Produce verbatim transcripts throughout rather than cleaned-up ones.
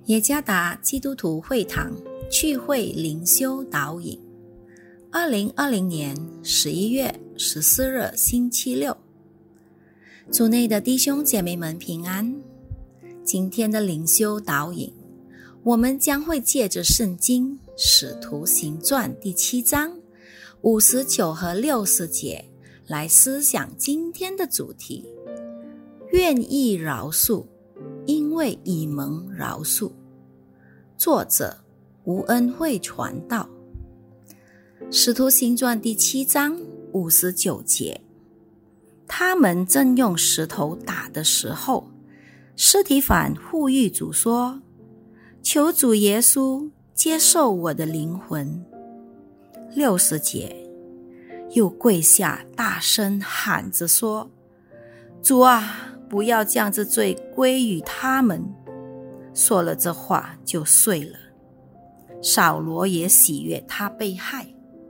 耶加达基督徒会堂聚会灵修导引，二零二零年十一月十四日星期六。主内的弟兄姐妹们平安。今天的灵修导引，我们将会借着圣经使徒行传第七章五十九和六十节来思想今天的主题：愿意饶恕，因为已蒙饶恕。作者吴恩惠传道。使徒行传第七章五十九节，他们正用石头打的时候，司提反呼吁主说：求主耶稣接受我的灵魂。六十节，又跪下大声喊着说：主啊，不要将这罪归于他们。说了这话就睡了。扫罗也喜悦他被害。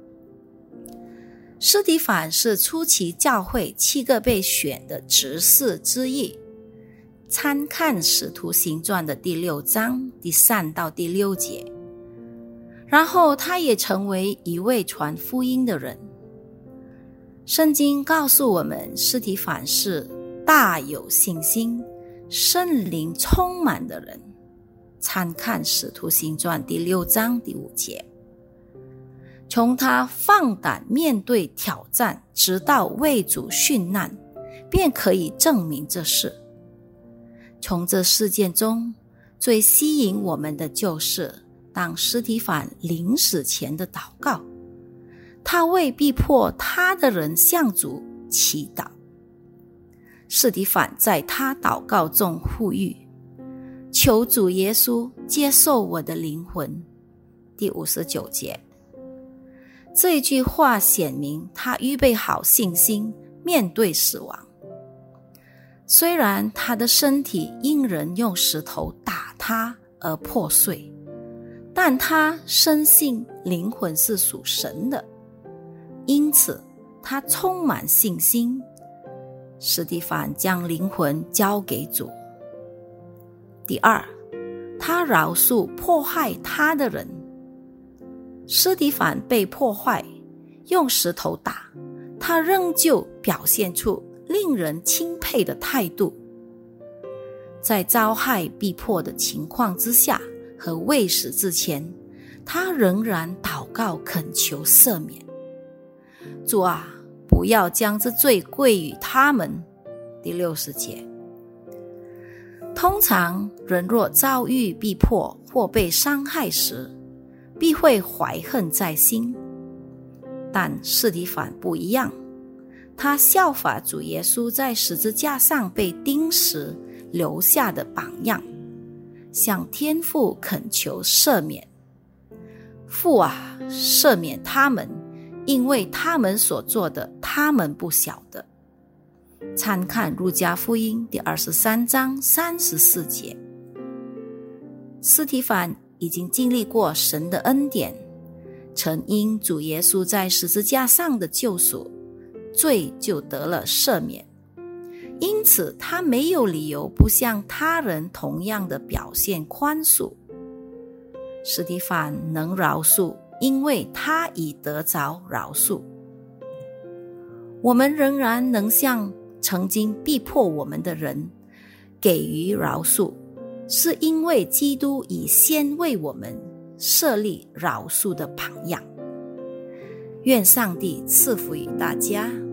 司提反是初期教会七个被选的执事之一，参看使徒行传的第六章第三到第六节。然后他也成为一位传福音的人。圣经告诉我们，司提反是大有信心、圣灵充满的人，参看使徒行传第六章第五节。从他放胆面对挑战，直到为主殉难，便可以证明这事。从这事件中，最吸引我们的就是当司提反临死前的祷告，他为逼迫他的人向主祈祷。司提反在他祷告中呼吁：求主耶稣接受我的灵魂。第五十九节，这句话显明他预备好信心面对死亡。虽然他的身体因人用石头打他而破碎，但他深信灵魂是属神的，因此他充满信心。司提反将灵魂交给主。第二，他饶恕迫害他的人。司提反被迫害，用石头打，他仍旧表现出令人钦佩的态度。在遭害逼迫的情况之下和未死之前，他仍然祷告恳求赦免。主啊，不要将这罪归于他们。第六十节。通常人若遭遇逼迫或被伤害时，必会怀恨在心，但司提反不一样，他效法主耶稣在十字架上被钉时留下的榜样，向天父恳求赦免。父啊，赦免他们，因为他们所做的，他们不晓得。参看路加福音第二十三章三十四节。司提反已经经历过神的恩典，曾因主耶稣在十字架上的救赎，罪就得了赦免，因此他没有理由不向他人同样的表现宽恕。司提反能饶恕，因为他已得着饶恕。我们仍然能向曾经逼迫我们的人给予饶恕，是因为基督已先为我们设立饶恕的榜样。愿上帝赐福于大家。